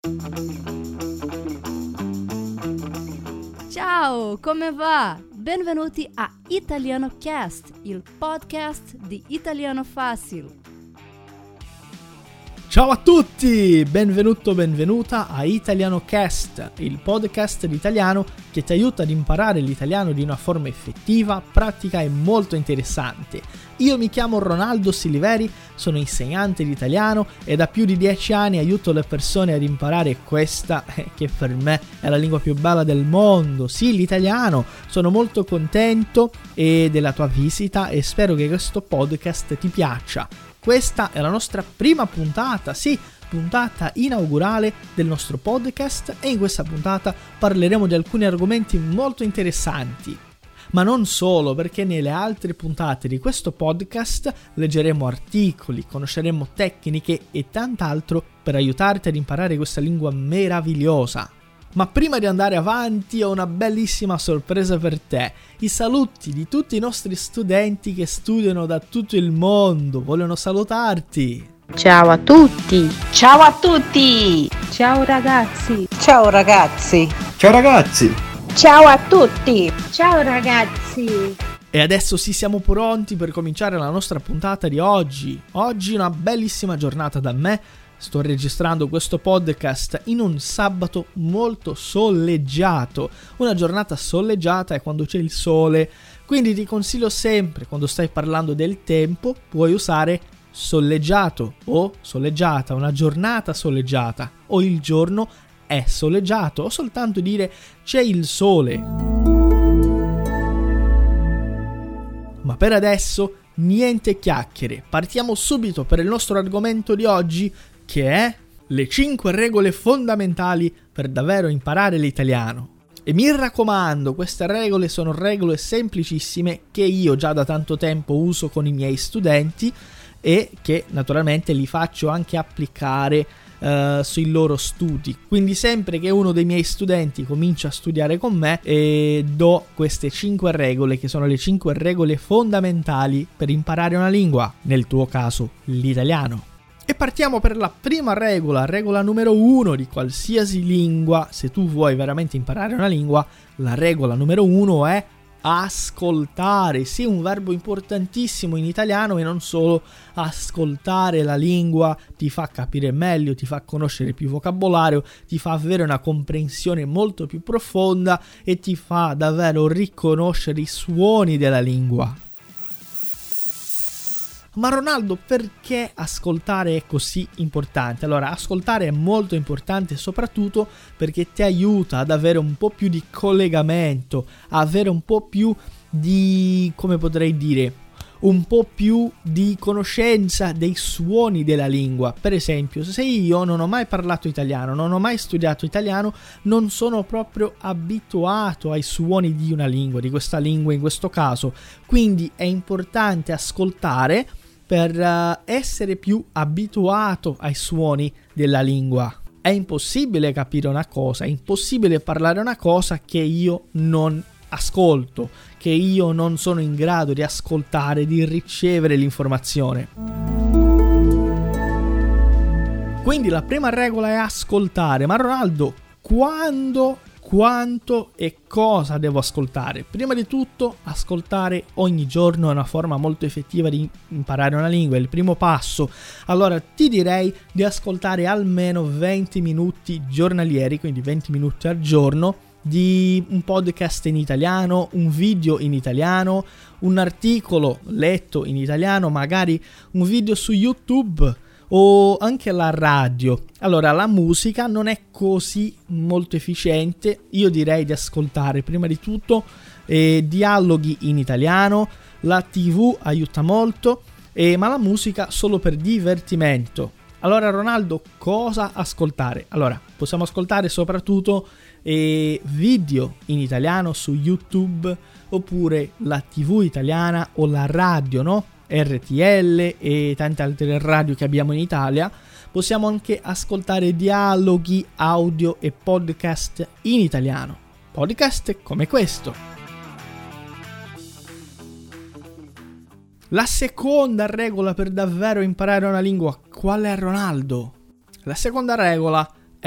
Ciao, come va? Benvenuti a Italiano Cast, il podcast di Italiano Fácil. Ciao a tutti, benvenuta a Italiano Cast, il podcast di italiano che ti aiuta ad imparare l'italiano di una forma effettiva, pratica e molto interessante. Io mi chiamo Ronaldo Siliveri, sono insegnante di italiano e da più di 10 anni aiuto le persone ad imparare questa, che per me è la lingua più bella del mondo, sì, l'italiano. Sono molto contento della tua visita e spero che questo podcast ti piaccia. Questa è la nostra prima puntata, sì, puntata inaugurale del nostro podcast, e in questa puntata parleremo di alcuni argomenti molto interessanti. Ma non solo, perché nelle altre puntate di questo podcast leggeremo articoli, conosceremo tecniche e tant'altro per aiutarti ad imparare questa lingua meravigliosa. Ma prima di andare avanti ho una bellissima sorpresa per te. I saluti di tutti i nostri studenti che studiano da tutto il mondo vogliono salutarti. Ciao a tutti! Ciao a tutti! Ciao ragazzi! Ciao ragazzi! Ciao ragazzi! Ciao a tutti! Ciao ragazzi! E adesso sì, siamo pronti per cominciare la nostra puntata di oggi. Oggi una bellissima giornata da me. Sto registrando questo podcast in un sabato molto soleggiato. Una giornata soleggiata è quando c'è il sole, quindi ti consiglio sempre, quando stai parlando del tempo, puoi usare soleggiato o soleggiata, una giornata soleggiata, o il giorno è soleggiato, o soltanto dire c'è il sole. Ma per adesso niente chiacchiere, partiamo subito per il nostro argomento di oggi, che è le 5 regole fondamentali per davvero imparare l'italiano. E mi raccomando, queste regole sono regole semplicissime che io già da tanto tempo uso con i miei studenti e che naturalmente li faccio anche applicare sui loro studi. Quindi sempre che uno dei miei studenti comincia a studiare con me do queste 5 regole, che sono le 5 regole fondamentali per imparare una lingua, nel tuo caso l'italiano. E partiamo per la prima regola, regola numero 1 di qualsiasi lingua. Se tu vuoi veramente imparare una lingua, la regola numero 1 è ascoltare. Sì, un verbo importantissimo in italiano, e non solo. Ascoltare la lingua ti fa capire meglio, ti fa conoscere più vocabolario, ti fa avere una comprensione molto più profonda e ti fa davvero riconoscere i suoni della lingua. Ma Ronaldo, perché ascoltare è così importante? Allora, ascoltare è molto importante soprattutto perché ti aiuta ad avere un po' più di collegamento, avere un po' più di, come potrei dire, un po' più di conoscenza dei suoni della lingua. Per esempio, se io non ho mai parlato italiano, non ho mai studiato italiano, non sono proprio abituato ai suoni di una lingua, di questa lingua in questo caso. Quindi è importante ascoltare per essere più abituato ai suoni della lingua. È impossibile capire una cosa, è impossibile parlare una cosa che io non ascolto, che io non sono in grado di ascoltare, di ricevere l'informazione. Quindi la prima regola è ascoltare. Ma Ronaldo, quando, quanto e cosa devo ascoltare? Prima di tutto, ascoltare ogni giorno è una forma molto effettiva di imparare una lingua, è il primo passo. Allora ti direi di ascoltare almeno 20 minuti giornalieri, quindi 20 minuti al giorno, di un podcast in italiano, un video in italiano, un articolo letto in italiano, magari un video su YouTube o anche la radio. Allora, la musica non è così molto efficiente. Io direi di ascoltare prima di tutto dialoghi in italiano. La TV aiuta molto, ma la musica solo per divertimento. Allora Ronaldo, cosa ascoltare? Allora, possiamo ascoltare soprattutto video in italiano su YouTube, oppure la TV italiana o la radio, no? RTL e tante altre radio che abbiamo in Italia. Possiamo anche ascoltare dialoghi, audio e podcast in italiano. Podcast come questo. La seconda regola per davvero imparare una lingua, qual è, Ronaldo? La seconda regola è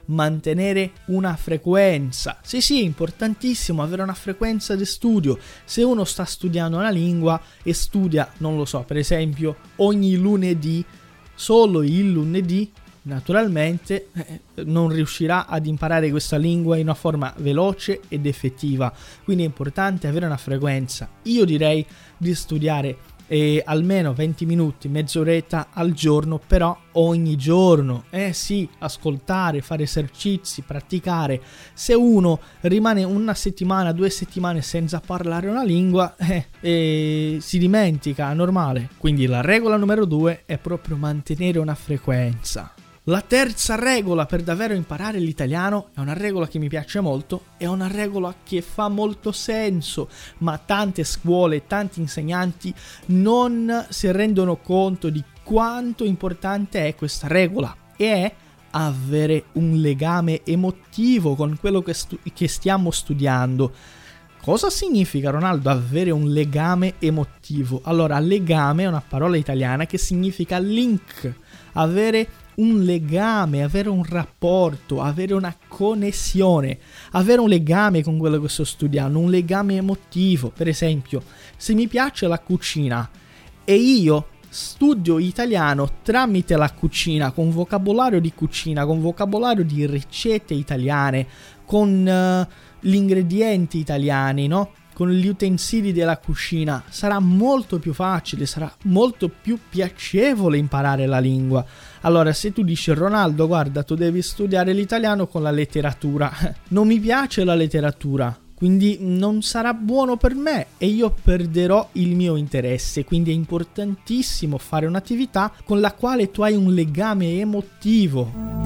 mantenere una frequenza. Sì, è importantissimo avere una frequenza di studio. Se uno sta studiando una lingua e studia, non lo so, per esempio ogni lunedì, solo il lunedì, naturalmente non riuscirà ad imparare questa lingua in una forma veloce ed effettiva. Quindi è importante avere una frequenza. Io direi di studiare almeno 20 minuti, mezz'oretta al giorno, però ogni giorno. Sì, ascoltare, fare esercizi, praticare. Se uno rimane una settimana, 2 settimane senza parlare una lingua, si dimentica, è normale. Quindi la regola numero 2 è proprio mantenere una frequenza. La terza regola per davvero imparare l'italiano è una regola che mi piace molto, è una regola che fa molto senso, ma tante scuole, tanti insegnanti non si rendono conto di quanto importante è questa regola, e è avere un legame emotivo con quello che stiamo studiando. Cosa significa, Ronaldo, avere un legame emotivo? Allora, legame è una parola italiana che significa link, avere un legame, avere un rapporto, avere una connessione, avere un legame con quello che sto studiando, un legame emotivo. Per esempio, se mi piace la cucina e io studio italiano tramite la cucina, con vocabolario di cucina, con vocabolario di ricette italiane, con gli ingredienti italiani, no? Con gli utensili della cucina, sarà molto più facile, sarà molto più piacevole imparare la lingua. Allora, se tu dici: Ronaldo, guarda, tu devi studiare l'italiano con la letteratura, non mi piace la letteratura, quindi non sarà buono per me e io perderò il mio interesse. Quindi è importantissimo fare un'attività con la quale tu hai un legame emotivo.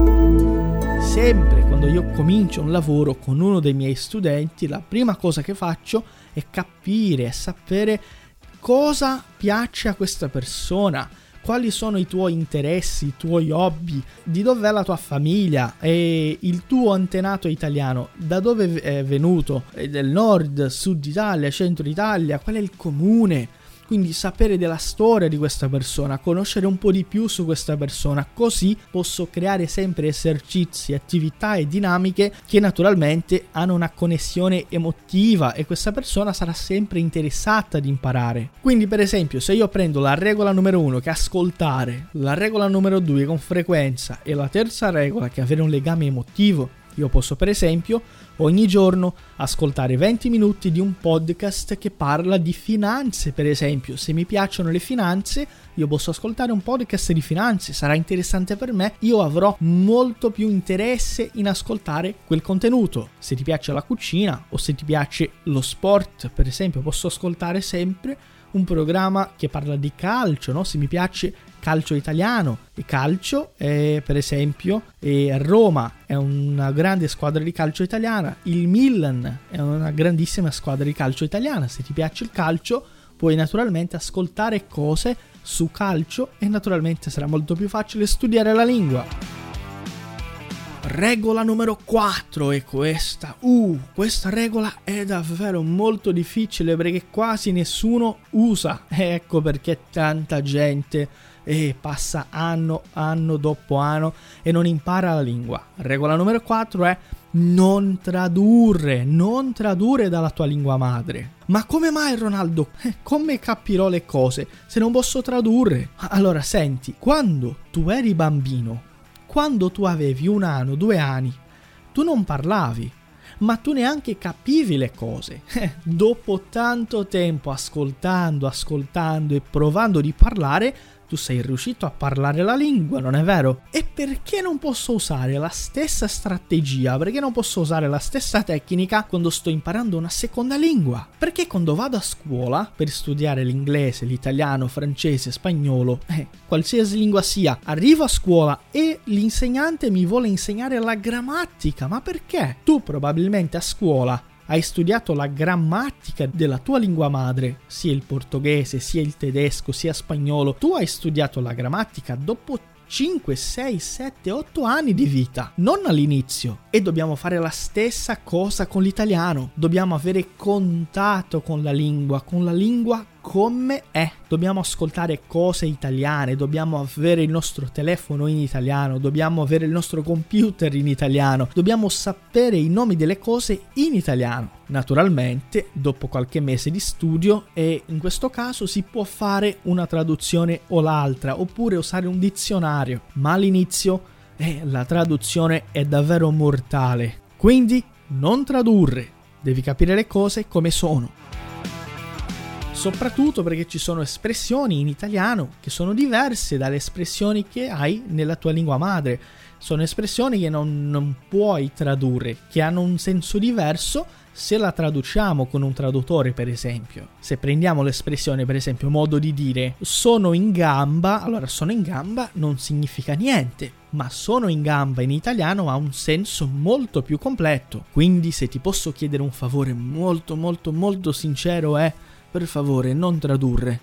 Sempre quando io comincio un lavoro con uno dei miei studenti, la prima cosa che faccio è capire e sapere cosa piace a questa persona, quali sono i tuoi interessi, i tuoi hobby, di dov'è la tua famiglia e il tuo antenato italiano, da dove è venuto, è del nord, sud Italia, centro Italia, qual è il comune. Quindi sapere della storia di questa persona, conoscere un po' di più su questa persona, così posso creare sempre esercizi, attività e dinamiche che naturalmente hanno una connessione emotiva e questa persona sarà sempre interessata ad imparare. Quindi, per esempio, se io prendo la regola numero 1 che è ascoltare, la regola numero 2 con frequenza e la terza regola che è avere un legame emotivo, io posso per esempio ogni giorno ascoltare 20 minuti di un podcast che parla di finanze. Per esempio, se mi piacciono le finanze, io posso ascoltare un podcast di finanze, sarà interessante per me, io avrò molto più interesse in ascoltare quel contenuto. Se ti piace la cucina o se ti piace lo sport, per esempio, posso ascoltare sempre un programma che parla di calcio, no? Se mi piace calcio italiano e calcio, per esempio, Roma è una grande squadra di calcio italiana, il Milan è una grandissima squadra di calcio italiana. Se ti piace il calcio, puoi naturalmente ascoltare cose su calcio e naturalmente sarà molto più facile studiare la lingua. Regola numero 4 è questa. Questa regola è davvero molto difficile perché quasi nessuno usa. Ecco perché tanta gente passa anno dopo anno e non impara la lingua. Regola numero 4 è non tradurre dalla tua lingua madre. Ma come mai, Ronaldo? Come capirò le cose se non posso tradurre? Allora senti, quando tu eri bambino, quando tu avevi 1 anno, 2 anni, tu non parlavi, ma tu neanche capivi le cose. Dopo tanto tempo ascoltando e provando di parlare, tu sei riuscito a parlare la lingua, non è vero? E perché non posso usare la stessa strategia? Perché non posso usare la stessa tecnica quando sto imparando una seconda lingua? Perché quando vado a scuola per studiare l'inglese, l'italiano, francese, spagnolo, qualsiasi lingua sia, arrivo a scuola e l'insegnante mi vuole insegnare la grammatica. Ma perché? Tu probabilmente a scuola hai studiato la grammatica della tua lingua madre, sia il portoghese, sia il tedesco, sia spagnolo. Tu hai studiato la grammatica dopo 5, 6, 7, 8 anni di vita, non all'inizio. E dobbiamo fare la stessa cosa con l'italiano. Dobbiamo avere contatto con la lingua come è. Dobbiamo ascoltare cose italiane, dobbiamo avere il nostro telefono in italiano, dobbiamo avere il nostro computer in italiano, dobbiamo sapere i nomi delle cose in italiano. Naturalmente, dopo qualche mese di studio, e in questo caso si può fare una traduzione o l'altra, oppure usare un dizionario, ma all'inizio la traduzione è davvero mortale. Quindi non tradurre, devi capire le cose come sono. Soprattutto perché ci sono espressioni in italiano che sono diverse dalle espressioni che hai nella tua lingua madre. Sono espressioni che non puoi tradurre, che hanno un senso diverso se la traduciamo con un traduttore, per esempio. Se prendiamo l'espressione, per esempio, modo di dire sono in gamba, allora sono in gamba non significa niente, ma sono in gamba in italiano ha un senso molto più completo. Quindi se ti posso chiedere un favore molto molto molto sincero è: per favore, non tradurre.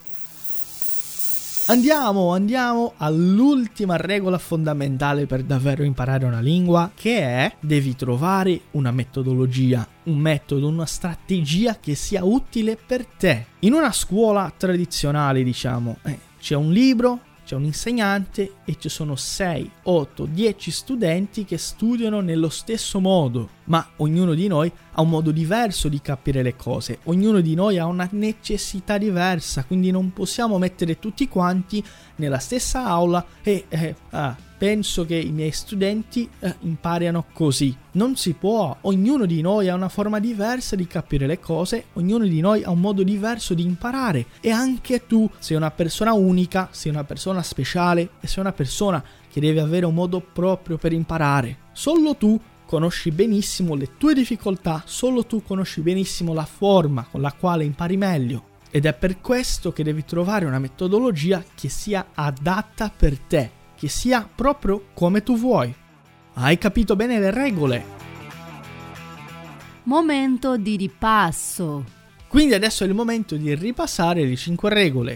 Andiamo all'ultima regola fondamentale per davvero imparare una lingua, che è: devi trovare una metodologia, un metodo, una strategia che sia utile per te. In una scuola tradizionale, diciamo, c'è un libro, c'è un insegnante e ci sono 6, 8, 10 studenti che studiano nello stesso modo, ma ognuno di noi ha un modo diverso di capire le cose, ognuno di noi ha una necessità diversa, quindi non possiamo mettere tutti quanti nella stessa aula e penso che i miei studenti imparino così. Non si può, ognuno di noi ha una forma diversa di capire le cose, ognuno di noi ha un modo diverso di imparare, e anche tu sei una persona unica, sei una persona speciale e sei una persona che deve avere un modo proprio per imparare. Solo tu conosci benissimo le tue difficoltà, solo tu conosci benissimo la forma con la quale impari meglio, ed è per questo che devi trovare una metodologia che sia adatta per te, che sia proprio come tu vuoi. Hai capito bene le regole? Momento di ripasso. Quindi adesso è il momento di ripassare le 5 regole.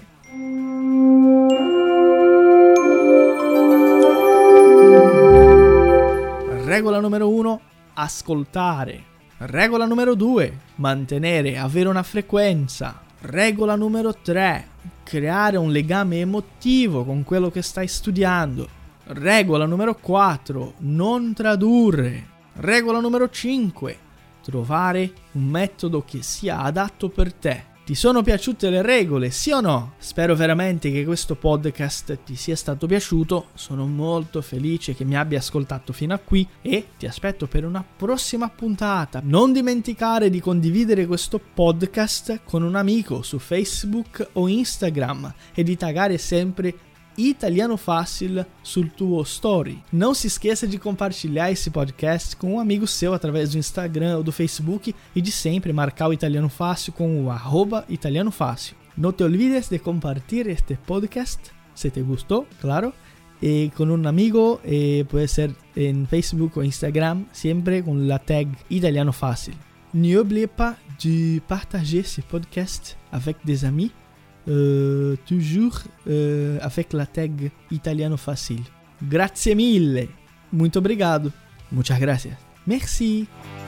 Regola numero 1, ascoltare. Regola numero 2, mantenere, avere una frequenza. Regola numero 3, creare un legame emotivo con quello che stai studiando. Regola numero 4, non tradurre. Regola numero 5, trovare un metodo che sia adatto per te. Ti sono piaciute le regole, sì o no? Spero veramente che questo podcast ti sia stato piaciuto, sono molto felice che mi abbia ascoltato fino a qui e ti aspetto per una prossima puntata. Non dimenticare di condividere questo podcast con un amico su Facebook o Instagram e di taggare sempre Italiano Fácil sul tuo story. Não se esqueça de compartilhar esse podcast com um amigo seu através do Instagram ou do Facebook e de sempre marcar o Italiano Fácil com o @Italiano Fácil. No te olvides de compartir este podcast si te gustó, claro, con un amigo, puede ser en Facebook o Instagram, siempre con la tag Italiano Fácil. N'oubliez pas de partager ce podcast avec des amis, toujours avec la tag Italiano Fácil. Grazie mille, muito obrigado, muchas gracias, merci.